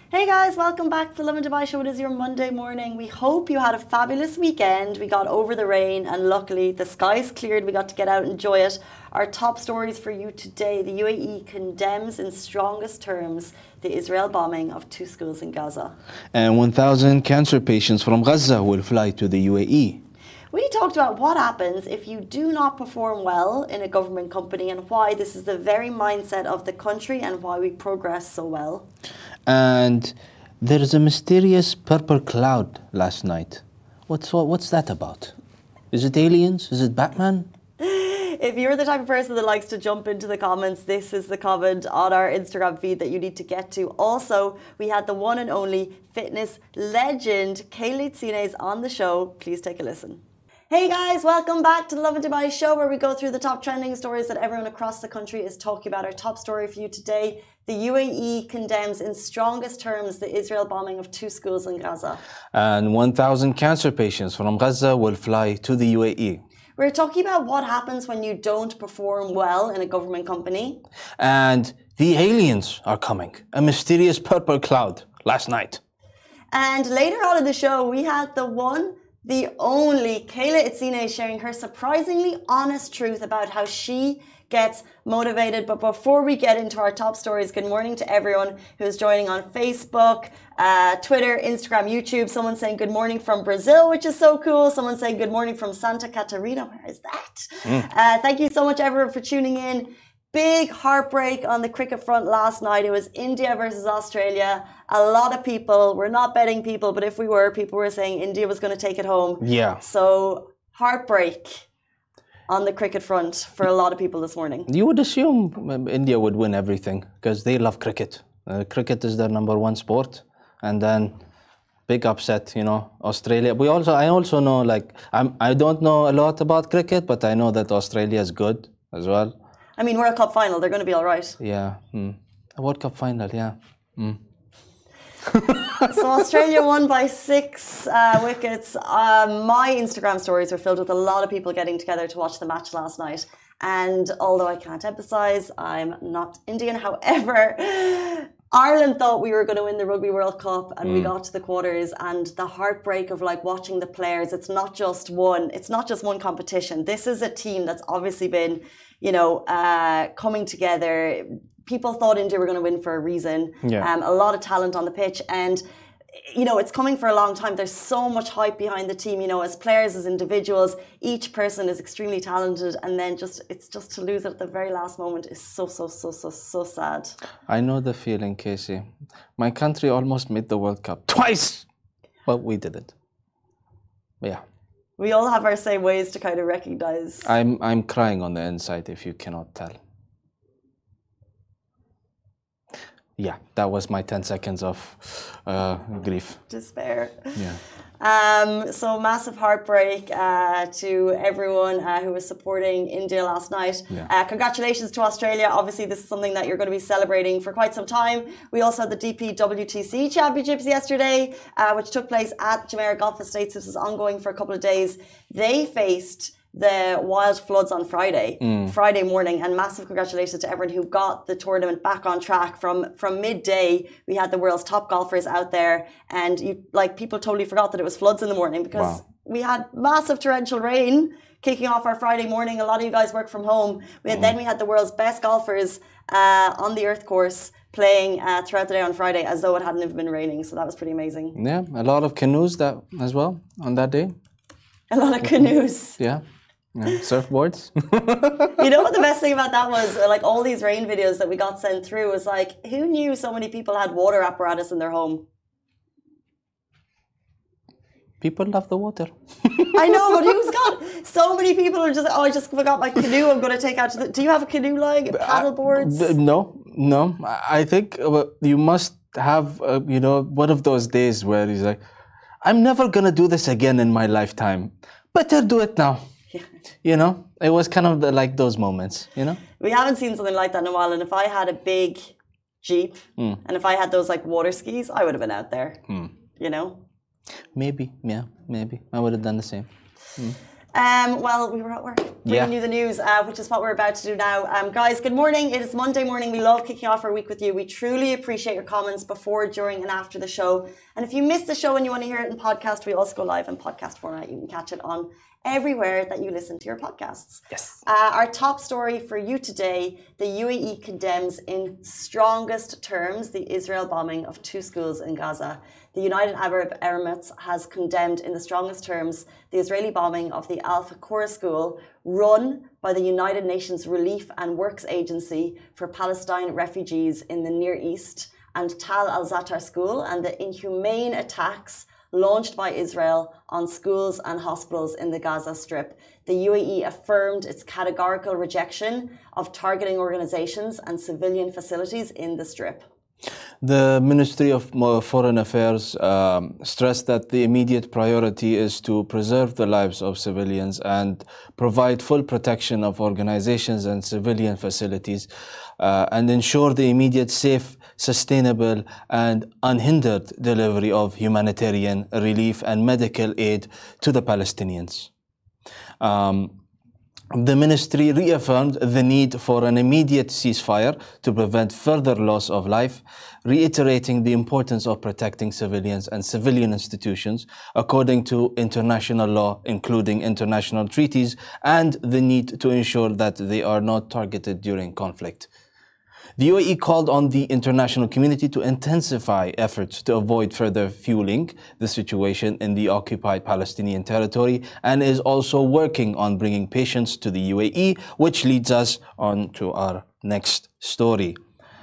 Hey guys, welcome back to the Lovin Dubai show. It is your Monday morning. We hope you had a fabulous weekend. We got over the rain and luckily the skies cleared. We got to get out and enjoy it. Our top stories for you today. The UAE condemns in strongest terms the Israel bombing of 2 schools in Gaza. And 1,000 cancer patients from Gaza will fly to the UAE. We talked about what happens if you do not perform well in a government company and why this is the very mindset of the country and why we progress so well. And there is a mysterious purple cloud last night. What's that about? Is it aliens? Is it Batman? If you're the type of person that likes to jump into the comments, this is the comment on our Instagram feed that you need to get to. Also, we had the one and only fitness legend, Kaylee Tsines, on the show. Please take a listen. Hey guys, welcome back to the Lovin Dubai show where we go through the top trending stories that everyone across the country is talking about. Our top story for you today, the UAE condemns in strongest terms the Israel bombing of 2 schools in Gaza. And 1,000 cancer patients from Gaza will fly to the UAE. We're talking about what happens when you don't perform well in a government company. And the aliens are coming. A mysterious purple cloud last night. And later on in the show, we had the only Kayla Itsine sharing her surprisingly honest truth about how she gets motivated. But before we get into our top stories, good morning to everyone who's joining on Facebook, Twitter, Instagram, YouTube. Someone saying good morning from Brazil, which is so cool. Someone saying good morning from Santa Catarina. Where is that? Thank you so much, everyone, for tuning in. Big heartbreak on the cricket front last night. It was India versus Australia. A lot of people, we're not betting people, but if we were, people were saying India was going to take it home. Yeah. So heartbreak on the cricket front for a lot of people this morning. You would assume India would win everything because they love cricket. Cricket is their number one sport. And then big upset, Australia. I also know, I don't know a lot about cricket, but I know that Australia is good as well. I mean, World Cup final, they're going to be all right. Yeah. A World Cup final, yeah. So Australia won by 6 wickets. My Instagram stories were filled with a lot of people getting together to watch the match last night. And although I can't emphasize, I'm not Indian. However, Ireland thought we were going to win the Rugby World Cup and we got to the quarters, and the heartbreak of watching the players. It's not just one competition. This is a team that's obviously been, coming together. People thought India were going to win for a reason. Yeah. A lot of talent on the pitch, and it's coming for a long time. There's so much hype behind the team, as players, as individuals. Each person is extremely talented, and then it's just to lose it at the very last moment is so sad. I know the feeling, Casey. My country almost made the World Cup twice, but we didn't. Yeah. We all have our same ways to kind of recognize. I'm crying on the inside if you cannot tell. Yeah, that was my 10 seconds of grief. Despair. Yeah. So massive heartbreak to everyone who was supporting India last night. Yeah. Congratulations to Australia. Obviously, this is something that you're going to be celebrating for quite some time. We also had the DP WTC Championships yesterday, which took place at Jumeirah Golf Estates. This was ongoing for a couple of days. They faced the wild floods on Friday morning, and massive congratulations to everyone who got the tournament back on track. From midday, we had the world's top golfers out there, and people totally forgot that it was floods in the morning because we had massive torrential rain kicking off our Friday morning. A lot of you guys work from home. Then we had the world's best golfers on the earth course playing throughout the day on Friday as though it hadn't even been raining. So that was pretty amazing. Yeah, a lot of canoes as well on that day. A lot of canoes. Yeah. Surfboards. You know what the best thing about that was? All these rain videos that we got sent through was who knew so many people had water apparatus in their home? People love the water. I know, but who's got so many people are just, I just forgot my canoe. I'm going to take out do you have a canoe paddle boards? No. I think you must have, one of those days where he's like, I'm never going to do this again in my lifetime. Better do it now. Yeah. It was kind of those moments, We haven't seen something like that in a while. And if I had a big Jeep and if I had those water skis, I would have been out there, Maybe. I would have done the same. Well, we were at work bringing you the news, which is what we're about to do now. Guys, good morning. It is Monday morning. We love kicking off our week with you. We truly appreciate your comments before, during, and after the show. And if you missed the show and you want to hear it in podcast, we also go live in podcast format. You can catch it on everywhere that you listen to your podcasts. Yes. Our top story for you today, the UAE condemns in strongest terms the Israel bombing of 2 schools in Gaza. The United Arab Emirates has condemned in the strongest terms the Israeli bombing of the Al Fakura school run by the United Nations Relief and Works Agency for Palestine refugees in the Near East and Tal al-Zatar school, and the inhumane attacks launched by Israel on schools and hospitals in the Gaza Strip. The UAE affirmed its categorical rejection of targeting organizations and civilian facilities in the Strip. The Ministry of Foreign Affairs stressed that the immediate priority is to preserve the lives of civilians and provide full protection of organizations and civilian facilities and ensure the immediate, safe, sustainable and unhindered delivery of humanitarian relief and medical aid to the Palestinians. The ministry reaffirmed the need for an immediate ceasefire to prevent further loss of life, reiterating the importance of protecting civilians and civilian institutions according to international law, including international treaties, and the need to ensure that they are not targeted during conflict. The UAE called on the international community to intensify efforts to avoid further fueling the situation in the occupied Palestinian territory and is also working on bringing patients to the UAE, which leads us on to our next story.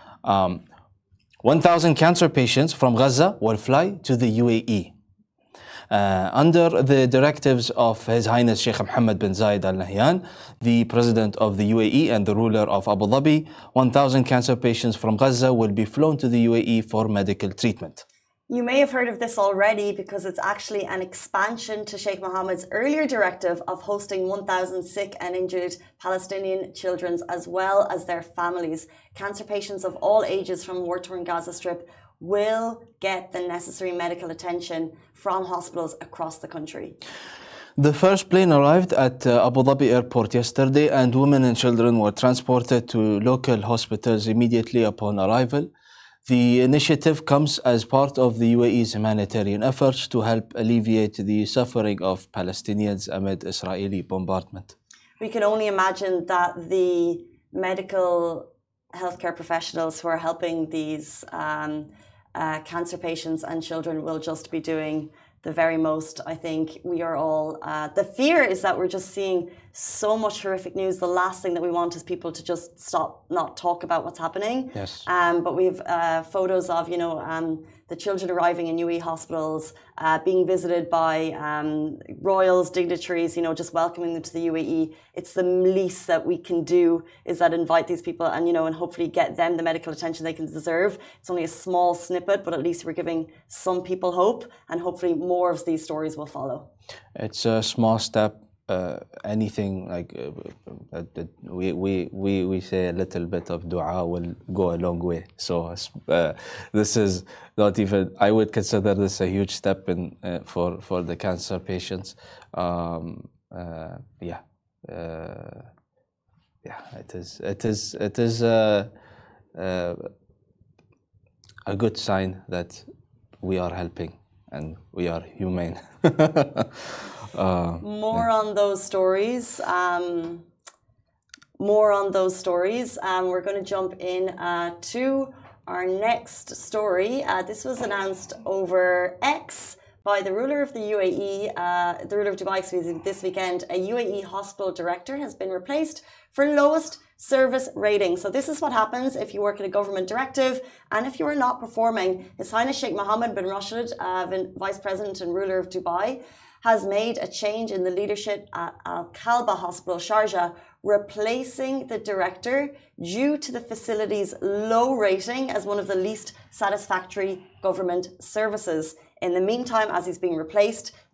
1,000 cancer patients from Gaza will fly to the UAE. Under the directives of His Highness Sheikh Mohammed bin Zayed Al Nahyan, the President of the UAE and the ruler of Abu Dhabi, 1,000 cancer patients from Gaza will be flown to the UAE for medical treatment. You may have heard of this already because it's actually an expansion to Sheikh Mohammed's earlier directive of hosting 1,000 sick and injured Palestinian children as well as their families. Cancer patients of all ages from war-torn Gaza Strip will get the necessary medical attention from hospitals across the country. The first plane arrived at Abu Dhabi airport yesterday and women and children were transported to local hospitals immediately upon arrival. The initiative comes as part of the UAE's humanitarian efforts to help alleviate the suffering of Palestinians amid Israeli bombardment. We can only imagine that the medical healthcare professionals who are helping these cancer patients and children will just be doing the very most. I think we are all, the fear is that we're just seeing so much horrific news. The last thing that we want is people to just stop, not talk about what's happening. Yes. But we have photos of, the children arriving in UAE hospitals, being visited by royals, dignitaries, just welcoming them to the UAE. It's the least that we can do is that invite these people and hopefully get them the medical attention they can deserve. It's only a small snippet, but at least we're giving some people hope, and hopefully more of these stories will follow. It's a small step. Anything like we say a little bit of dua will go a long way. So this is not even. I would consider this a huge step in for the cancer patients. It is a good sign that we are helping and we are humane. More on those stories. We're going to jump in to our next story. This was announced over X by the ruler of the UAE, the ruler of Dubai, this weekend. A UAE hospital director has been replaced for lowest service rating. So this is what happens if you work at a government directive and if you are not performing. His Highness Sheikh Mohammed bin Rashid, Vice President and ruler of Dubai, has made a change in the leadership at Al Kalba Hospital, Sharjah, replacing the director due to the facility's low rating as one of the least satisfactory government services. In the meantime, as he's being replaced,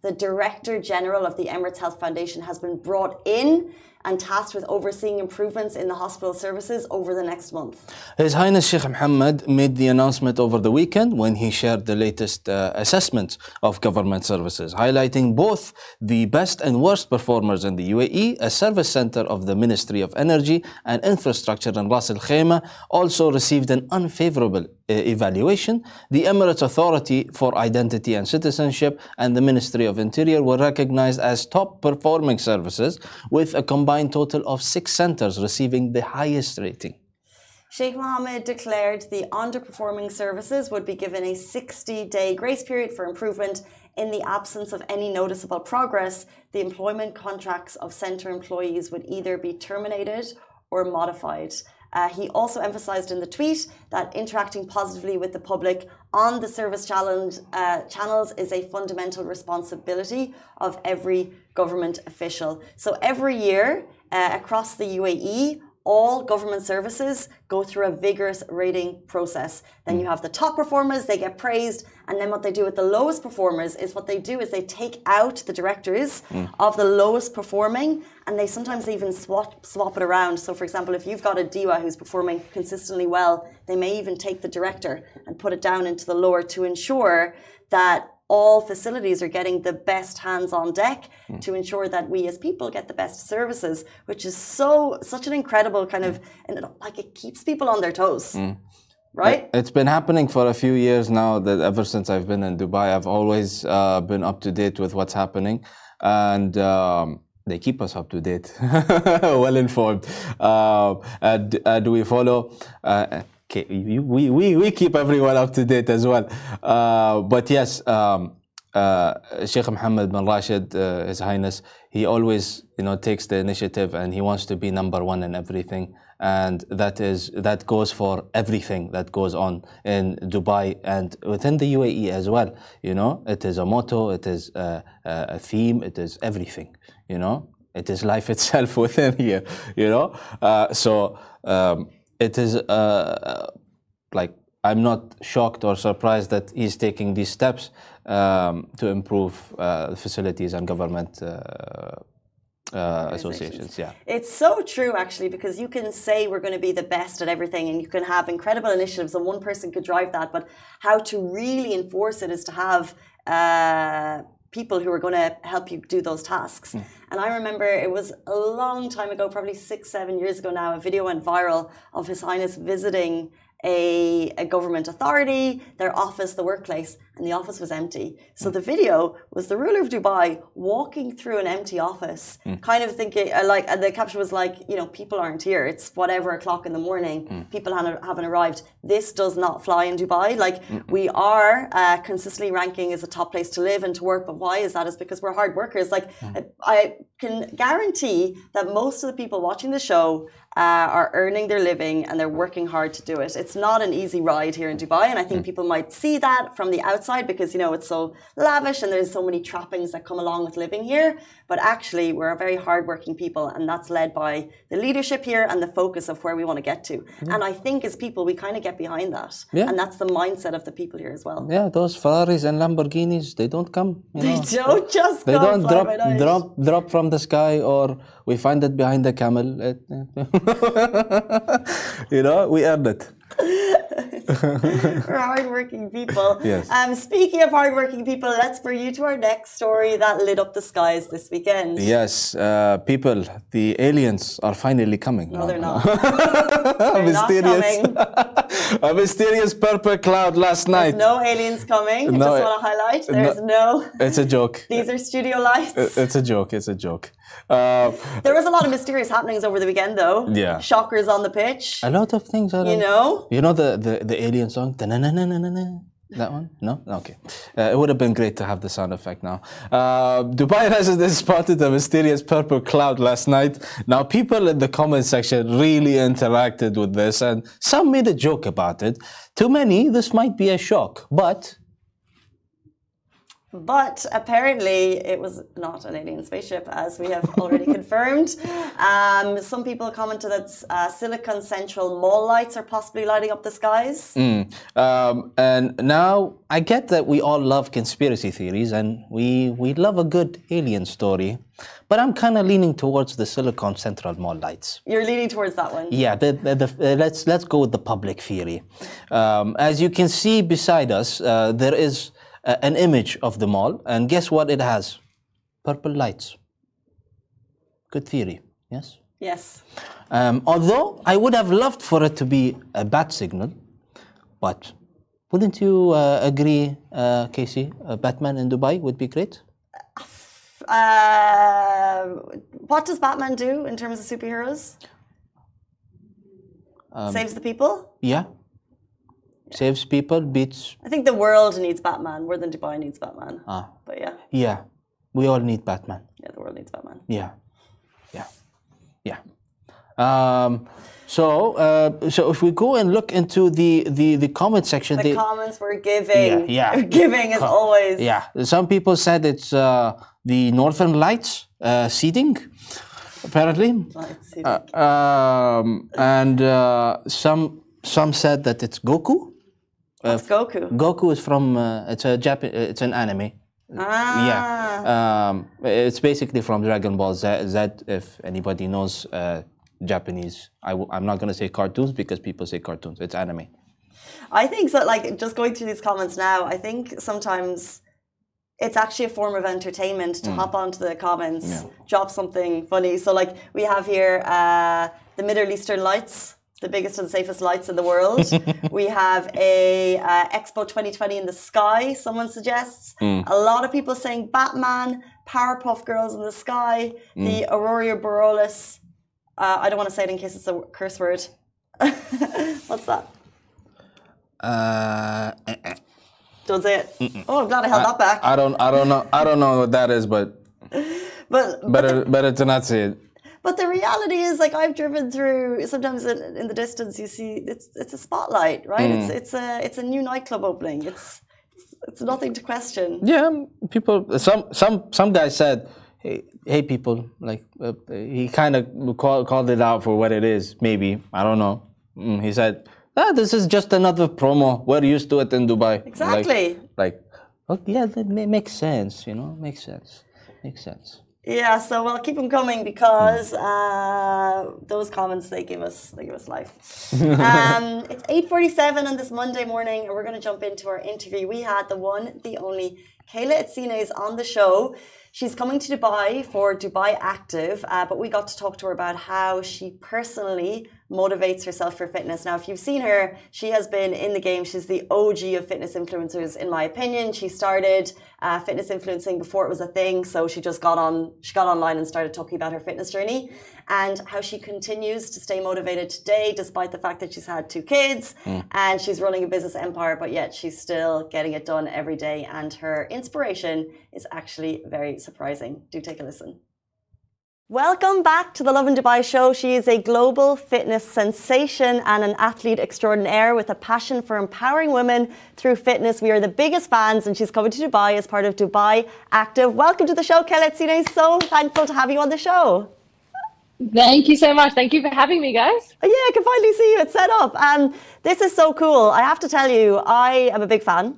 the Director General of the Emirates Health Foundation has been brought in and tasked with overseeing improvements in the hospital services over the next month. His Highness Sheikh Mohammed made the announcement over the weekend when he shared the latest assessment of government services, highlighting both the best and worst performers in the UAE. A service center of the Ministry of Energy and Infrastructure in Ras Al Khaimah also received an unfavorable evaluation. The Emirates Authority for Identity and Citizenship and the Ministry of Interior were recognized as top performing services, with a combined total of 6 centers receiving the highest rating. Sheikh Mohammed declared the underperforming services would be given a 60-day grace period for improvement. In the absence of any noticeable progress, the employment contracts of centre employees would either be terminated or modified. He also emphasised in the tweet that interacting positively with the public on the service channels is a fundamental responsibility of every government official. So every year across the UAE, all government services go through a vigorous rating process. Then you have the top performers, they get praised, and then what they do with the lowest performers is they take out the directors of the lowest performing, and they sometimes even swap it around. So for example, if you've got a DIWA who's performing consistently well, they may even take the director and put it down into the lower to ensure that all facilities are getting the best hands on deck to ensure that we as people get the best services, which is such an incredible kind of, and it keeps people on their toes. Right? It's been happening for a few years now, that ever since I've been in Dubai, I've always been up to date with what's happening, and they keep us up to date, well informed. Do we follow? Okay, we keep everyone up to date as well. But yes, Sheikh Mohammed bin Rashid, His Highness, he always takes the initiative, and he wants to be number one in everything. And that goes for everything that goes on in Dubai and within the UAE as well. It is a motto, it is a theme, it is everything. It is life itself within here. So it is I'm not shocked or surprised that he's taking these steps to improve facilities and government associations. Yeah, it's so true actually, because you can say we're going to be the best at everything, and you can have incredible initiatives, and one person could drive that, but how to really enforce it is to have people who are going to help you do those tasks. And I remember it was a long time ago, probably 6-7 years ago now, a video went viral of His Highness visiting a government authority, their office, the workplace, and the office was empty. So the video was the ruler of Dubai walking through an empty office, kind of thinking, and the caption was people aren't here. It's whatever o'clock in the morning. People haven't arrived. This does not fly in Dubai. We are consistently ranking as a top place to live and to work. But why is that? It's because we're hard workers. I can guarantee that most of the people watching the show are earning their living and they're working hard to do it. It's not an easy ride here in Dubai, and I think people might see that from the outside because it's so lavish and there's so many trappings that come along with living here. But actually, we're a very hardworking people, and that's led by the leadership here and the focus of where we want to get to. And I think as people, we kind of get behind that, and that's the mindset of the people here as well. Yeah, those Ferraris and Lamborghinis, they don't come. They don't just they don't drop from the sky, or we find it behind the camel. We earned it. We're hardworking people. Yes. Speaking of hardworking people, let's bring you to our next story that lit up the skies this weekend. Yes, people, the aliens are finally coming. No, they're not. They're mysterious. Not coming. A mysterious purple cloud last night. There's no aliens coming. I just want to highlight. There's no. It's a joke. These are studio lights. It's a joke. It's a joke. There was a lot of mysterious happenings over the weekend, though. Yeah. Shockers on the pitch. A lot of things. You know the alien song? That one? No? Okay. It would have been great to have the sound effect now. Dubai residents spotted a mysterious purple cloud last night. Now, people in the comment section really interacted with this, and some made a joke about it. To many, this might be a shock, but But apparently it was not an alien spaceship, as we have already confirmed. Some people commented that Silicon Central mall lights are possibly lighting up the skies. And now I get that we all love conspiracy theories and we love a good alien story, but I'm kind of leaning towards the Silicon Central mall lights. You're leaning towards that one? Yeah, let's go with the public theory. As you can see beside us, there is an image of the mall, and guess what it has? Purple lights. Good theory, yes? Yes. Although I would have loved for it to be a bat signal, but wouldn't you agree, Casey? Batman in Dubai would be great? What does Batman do in terms of superheroes? Saves the people? Yeah. Saves people, beats... I think the world needs Batman more than Dubai needs Batman. But yeah. Yeah, we all need Batman. Yeah, the world needs Batman. Yeah. So if we go and look into the comment section... The comments were giving. Yeah. Giving as always. Yeah. Some people said it's the Northern Lights seeding, apparently. Lights seeding. And some said that it's Goku. What's Goku? Goku is from it's an anime. Yeah. It's basically from Dragon Ball Z. If anybody knows Japanese, I'm not gonna say cartoons because people say cartoons. It's anime. I think so. Like just going through these comments now, I think sometimes it's actually a form of entertainment to hop onto the comments, drop something funny. So like we have here the Middle Eastern lights. The biggest and safest lights in the world. We have a Expo 2020 in the sky, someone suggests. A lot of people saying Batman, Powerpuff Girls in the sky, the Aurora Borealis. I don't want to say it in case it's a curse word. What's that? Don't say it. Oh, I'm glad I held that back. I don't know what that is, but better to not say it. But the reality is, like I've driven through. Sometimes in the distance, you see it's a spotlight, right? It's a new nightclub opening. It's nothing to question. Yeah, people. Some guy said, "Hey, people!" Like he kind of called it out for what it is. Maybe I don't know. He said, "This is just another promo. We're used to it in Dubai." Exactly. Yeah, that makes sense. You know, makes sense. Yeah, so we'll keep them coming because those comments they give us life. It's 8:47 on this Monday morning, and we're going to jump into our interview. We had the one, the only Kayla Itsine is on the show. She's coming to Dubai for Dubai Active, but we got to talk to her about how she personally motivates herself for fitness. Now, if you've seen her, she has been in the game. She's the OG of fitness influencers, in my opinion. She started fitness influencing before it was a thing, so she just got online and started talking about her fitness journey and how she continues to stay motivated today, despite the fact that she's had 2 kids and she's running a business empire, but yet she's still getting it done every day. And her inspiration is actually very surprising. Do take a listen. Welcome back to the Lovin Dubai show. She is a global fitness sensation and an athlete extraordinaire with a passion for empowering women through fitness. We are the biggest fans, and she's coming to Dubai as part of Dubai Active. Welcome to the show, Kayla Itsine. So thankful to have you on the show. Thank you so much. Thank you for having me, guys. Yeah, I can finally see you. It's set up. This is so cool. I have to tell you, I am a big fan.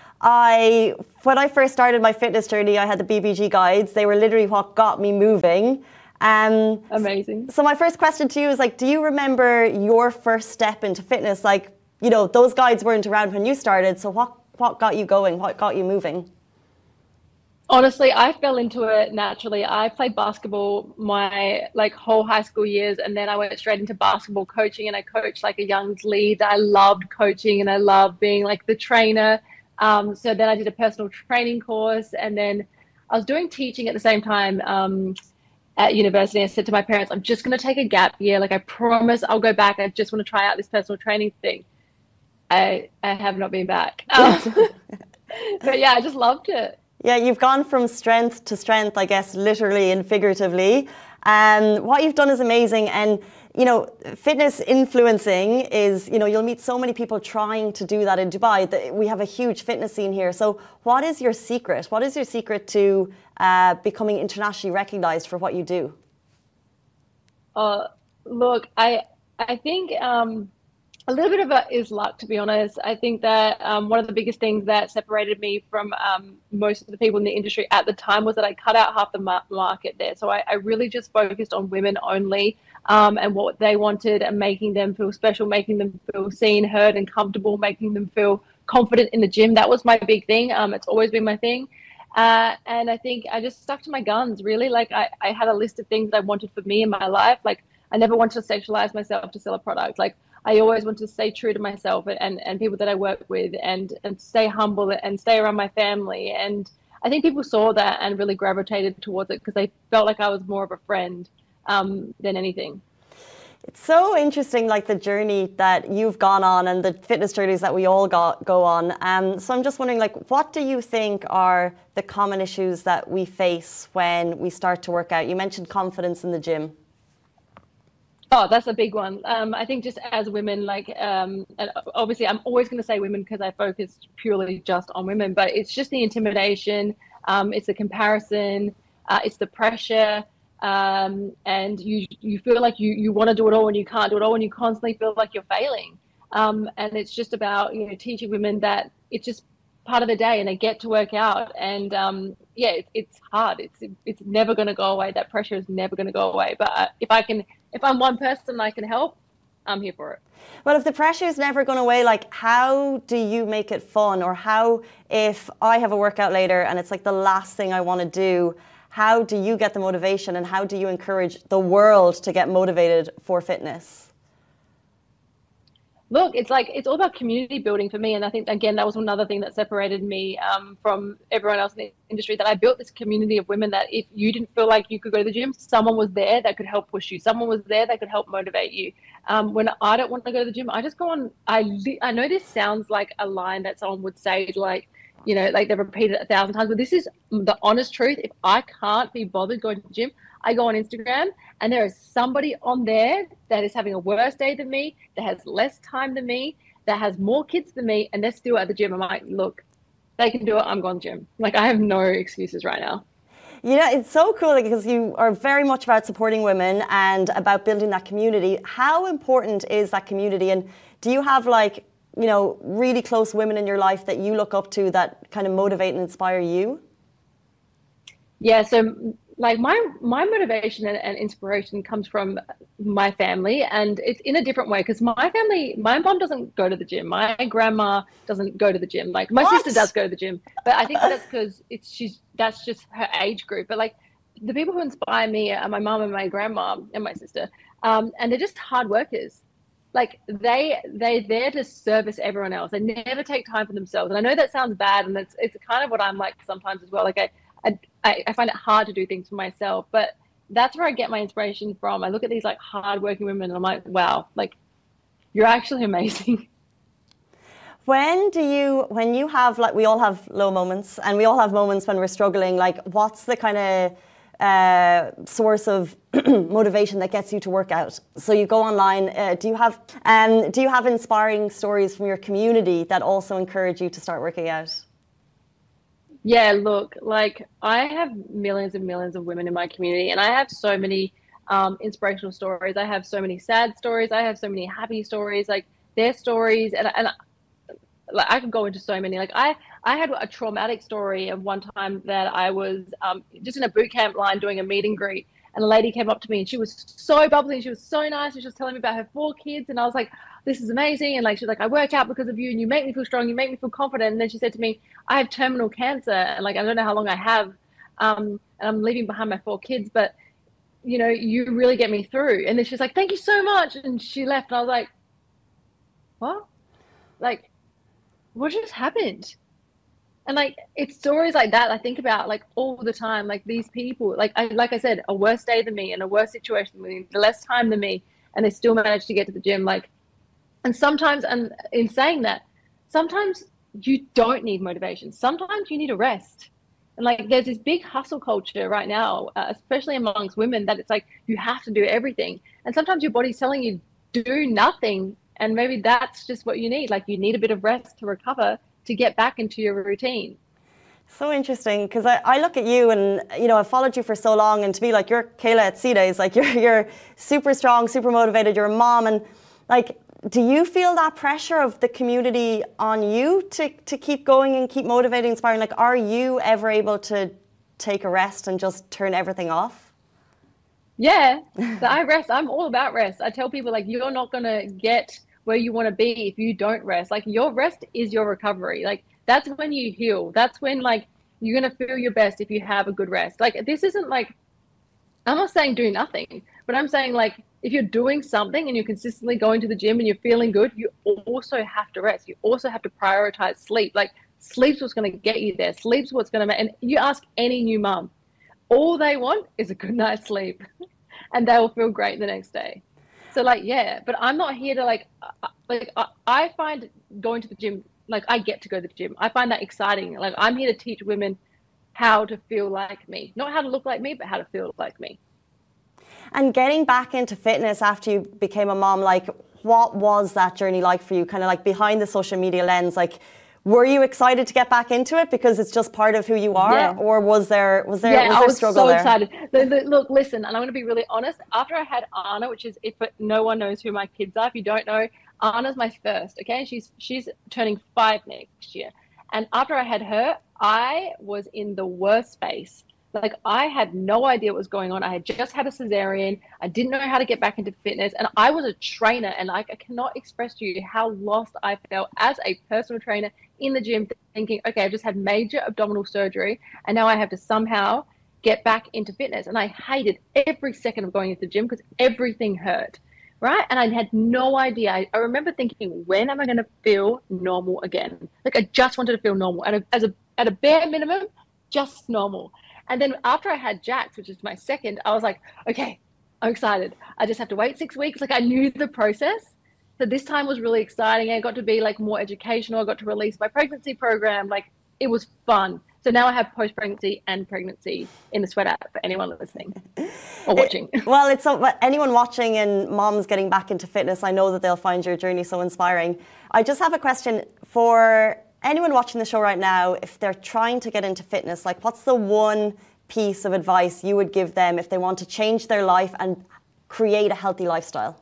When I first started my fitness journey, I had the BBG guides. They were literally what got me moving. Amazing. So my first question to you is do you remember your first step into fitness? Those guides weren't around when you started. So what got you going? What got you moving? Honestly, I fell into it naturally. I played basketball my whole high school years, and then I went straight into basketball coaching, and I coached a young lead. I loved coaching and I loved being the trainer. So then I did a personal training course, and then I was doing teaching at the same time at university. I said to my parents, I'm just going to take a gap year. I promise I'll go back. I just want to try out this personal training thing. I have not been back. But yeah, I just loved it. Yeah, you've gone from strength to strength, I guess, literally and figuratively. What you've done is amazing. And you know, fitness influencing is, you know, you'll meet so many people trying to do that in Dubai. We have a huge fitness scene here. So what is your secret? What is your secret to becoming internationally recognized for what you do? Look, I think a little bit of it is luck, to be honest. I think that one of the biggest things that separated me from most of the people in the industry at the time was that I cut out half the market there. So I really just focused on women only and what they wanted, and making them feel special, making them feel seen, heard, and comfortable, making them feel confident in the gym. That was my big thing. It's always been my thing. And I think I just stuck to my guns, really. Like I had a list of things I wanted for me in my life. Like I never wanted to sexualize myself to sell a product. Like I always wanted to stay true to myself and people that I work with, and stay humble and stay around my family. And I think people saw that and really gravitated towards it because they felt like I was more of a friend than anything. It's so interesting, like the journey that you've gone on and the fitness journeys that we all go on. So I'm just wondering, like, what do you think are the common issues that we face when we start to work out? You mentioned confidence in the gym. Oh, that's a big one. I think just as women, like, and obviously I'm always going to say women because I focus purely just on women, but it's just the intimidation, it's the comparison, it's the pressure, and you feel like you want to do it all and you can't do it all, and you constantly feel like you're failing. And it's just about, you know, teaching women that it's just part of the day and they get to work out. And yeah, it's hard. It's never going to go away. That pressure is never going to go away. But if I'm one person I can help, I'm here for it. Well, if the pressure is never going away, like, how do you make it fun? Or how, if I have a workout later and it's like the last thing I want to do, how do you get the motivation, and how do you encourage the world to get motivated for fitness? Look, it's all about community building for me. And I think, again, that was another thing that separated me from everyone else in the industry, that I built this community of women that if you didn't feel like you could go to the gym, someone was there that could help push you. Someone was there that could help motivate you. When I don't want to go to the gym, I just go on. I know this sounds like a line that someone would say, like, you know, like they've repeated it 1,000 times, but this is the honest truth. If I can't be bothered going to the gym, I go on Instagram and there is somebody on there that is having a worse day than me, that has less time than me, that has more kids than me, and they're still at the gym. I'm like, look, they can do it. I'm going to the gym. Like, I have no excuses right now. You know, it's so cool because you are very much about supporting women and about building that community. How important is that community? And do you have, like, you know, really close women in your life that you look up to that kind of motivate and inspire you? Yeah, so like my motivation and inspiration comes from my family, and it's in a different way because my mom doesn't go to the gym. My grandma doesn't go to the gym. Like my sister does go to the gym, but I think that's because that's just her age group. But like the people who inspire me are my mom and my grandma and my sister, and they're just hard workers. Like they're there to service everyone else. They never take time for themselves. And I know that sounds bad, and it's kind of what I'm like sometimes as well. Like I find it hard to do things for myself, but that's where I get my inspiration from. I look at these like hardworking women and I'm like, wow, like you're actually amazing. When you have, like, we all have low moments and we all have moments when we're struggling, like what's the kind of source of motivation that gets you to work out? So you go online, do you have inspiring stories from your community that also encourage you to start working out? Yeah, look, like I have millions and millions of women in my community, and I have so many inspirational stories. I have so many sad stories. I have so many happy stories, like their stories. And like I could go into so many. Like I had a traumatic story of one time that I was just in a boot camp line doing a meet and greet, and a lady came up to me and she was so bubbly and she was so nice, and she was telling me about her 4 kids, and I was like, this is amazing. And like she's like, I work out because of you and you make me feel strong, you make me feel confident. And then she said to me, I have terminal cancer and like I don't know how long I have, and I'm leaving behind my 4 kids, but you know, you really get me through. And then she's like, thank you so much, and she left. And I was like, what? Like, what just happened? And like it's stories like that I think about like all the time. Like these people, like I said, a worse day than me and a worse situation than me, less time than me, and they still manage to get to the gym. Like, and sometimes, and in saying that, sometimes you don't need motivation. Sometimes you need a rest. And like, there's this big hustle culture right now, especially amongst women, that it's like you have to do everything. And sometimes your body's telling you do nothing, and maybe that's just what you need. Like, you need a bit of rest to recover to get back into your routine. So interesting, because I look at you and, you know, I've followed you for so long, and to me, like, you're Kayla at Sea Days, like you're super strong, super motivated, you're a mom, and like, do you feel that pressure of the community on you to keep going and keep motivating, inspiring? Like, are you ever able to take a rest and just turn everything off? Yeah, so I rest. I'm all about rest. I tell people, like, you're not going to get where you want to be if you don't rest. Like, your rest is your recovery. Like, that's when you heal. That's when, like, you're going to feel your best if you have a good rest. Like, this isn't like, I'm not saying do nothing, but I'm saying, like, if you're doing something and you're consistently going to the gym and you're feeling good, you also have to rest. You also have to prioritize sleep. Like, sleep's what's going to get you there. Sleep's what's going to make, and you ask any new mom, all they want is a good night's sleep and they will feel great the next day. So, like, yeah, but I'm not here to I find going to the gym, like, I get to go to the gym. I find that exciting. Like, I'm here to teach women how to feel like me, not how to look like me, but how to feel like me. And getting back into fitness after you became a mom, like, what was that journey like for you? Kind of like behind the social media lens, like, were you excited to get back into it because it's just part of who you are? Yeah. Or was there struggle there? I was so excited. Look, listen, and I'm going to be really honest. After I had Anna, which is, if no one knows who my kids are, if you don't know, Anna's my first, okay? She's turning 5 next year. And after I had her, I was in the worst space. Like, I had no idea what was going on. I had just had a cesarean. I didn't know how to get back into fitness. And I was a trainer, and I cannot express to you how lost I felt as a personal trainer in the gym, thinking, okay, I've just had major abdominal surgery, and now I have to somehow get back into fitness. And I hated every second of going into the gym because everything hurt, right? And I had no idea. I remember thinking, when am I going to feel normal again? Like, I just wanted to feel normal. At a bare minimum, just normal. And then after I had Jax, which is my second, I was like, okay, I'm excited. I just have to wait 6 weeks. Like, I knew the process. So this time was really exciting. I got to be, like, more educational. I got to release my pregnancy program. Like, it was fun. So now I have post-pregnancy and pregnancy in the Sweat app for anyone listening or watching. Well, it's so, anyone watching and moms getting back into fitness, I know that they'll find your journey so inspiring. I just have a question for anyone watching the show right now. If they're trying to get into fitness, like, what's the one piece of advice you would give them if they want to change their life and create a healthy lifestyle?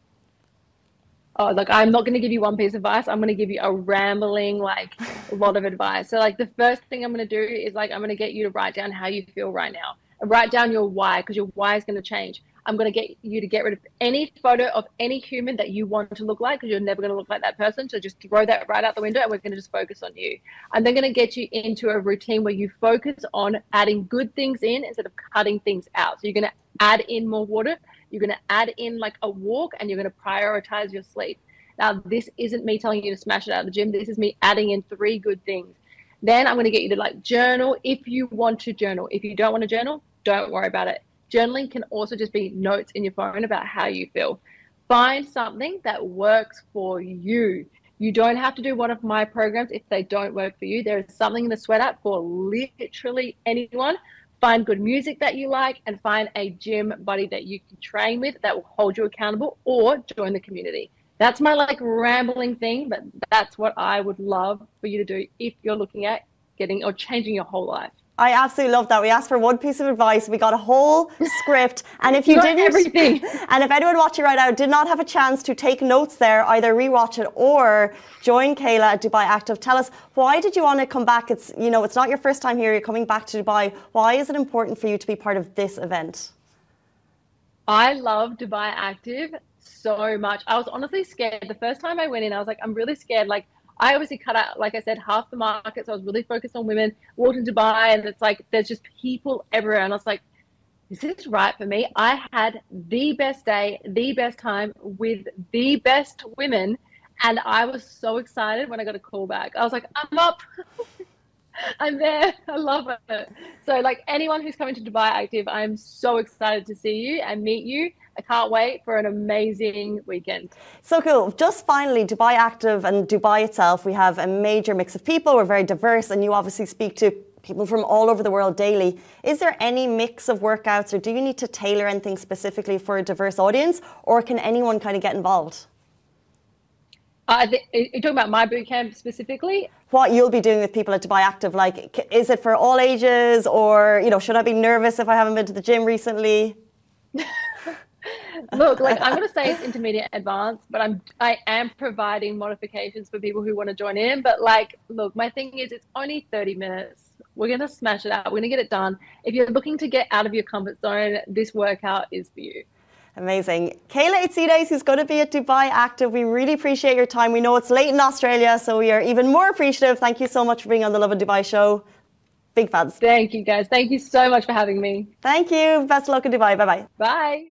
Oh, look, I'm not going to give you one piece of advice. I'm going to give you a rambling, like, a lot of advice. So, like, the first thing I'm going to do is, like, I'm going to get you to write down how you feel right now. And write down your why, because your why is going to change. I'm going to get you to get rid of any photo of any human that you want to look like, because you're never going to look like that person. So just throw that right out the window, and we're going to just focus on you. I'm then going to get you into a routine where you focus on adding good things in instead of cutting things out. So you're going to add in more water. You're going to add in, like, a walk, and you're going to prioritize your sleep. Now, this isn't me telling you to smash it out of the gym. This is me adding in 3 good things. Then I'm going to get you to, like, journal if you want to journal. If you don't want to journal, don't worry about it. Journaling can also just be notes in your phone about how you feel. Find something that works for you. You don't have to do one of my programs if they don't work for you. There is something in the Sweat app for literally anyone. Find good music that you like, and find a gym buddy that you can train with that will hold you accountable, or join the community. That's my, like, rambling thing, but that's what I would love for you to do if you're looking at getting or changing your whole life. I absolutely love that. We asked for one piece of advice. We got a whole script. And if you didn't, everything. And if anyone watching right now did not have a chance to take notes there, either rewatch it or join Kayla at Dubai Active. Tell us, why did you want to come back? It's, you know, it's not your first time here. You're coming back to Dubai. Why is it important for you to be part of this event? I love Dubai Active so much. I was honestly scared. The first time I went in, I was like, I'm really scared. Like, I obviously cut out, like I said, half the market. So I was really focused on women. Walked in Dubai, and it's like, there's just people everywhere. And I was like, is this right for me? I had the best day, the best time with the best women. And I was so excited when I got a call back. I was like, I'm up. I'm there. I love it. So, like, anyone who's coming to Dubai Active, I'm so excited to see you and meet you. I can't wait for an amazing weekend. So cool. Just finally, Dubai Active and Dubai itself, we have a major mix of people. We're very diverse, and you obviously speak to people from all over the world daily. Is there any mix of workouts, or do you need to tailor anything specifically for a diverse audience, or can anyone kind of get involved? You're talking about my bootcamp specifically? What you'll be doing with people at Dubai Active, like, is it for all ages, or, you know, should I be nervous if I haven't been to the gym recently? Look, like, I'm going to say it's intermediate advanced, but I am providing modifications for people who want to join in. But like, look, my thing is it's only 30 minutes. We're going to smash it out. We're going to get it done. If you're looking to get out of your comfort zone, this workout is for you. Amazing. Kayla Itzides, who's going to be at Dubai Active, we really appreciate your time. We know it's late in Australia, so we are even more appreciative. Thank you so much for being on the Lovin Dubai show. Big fans. Thank you, guys. Thank you so much for having me. Thank you. Best of luck in Dubai. Bye-bye. Bye.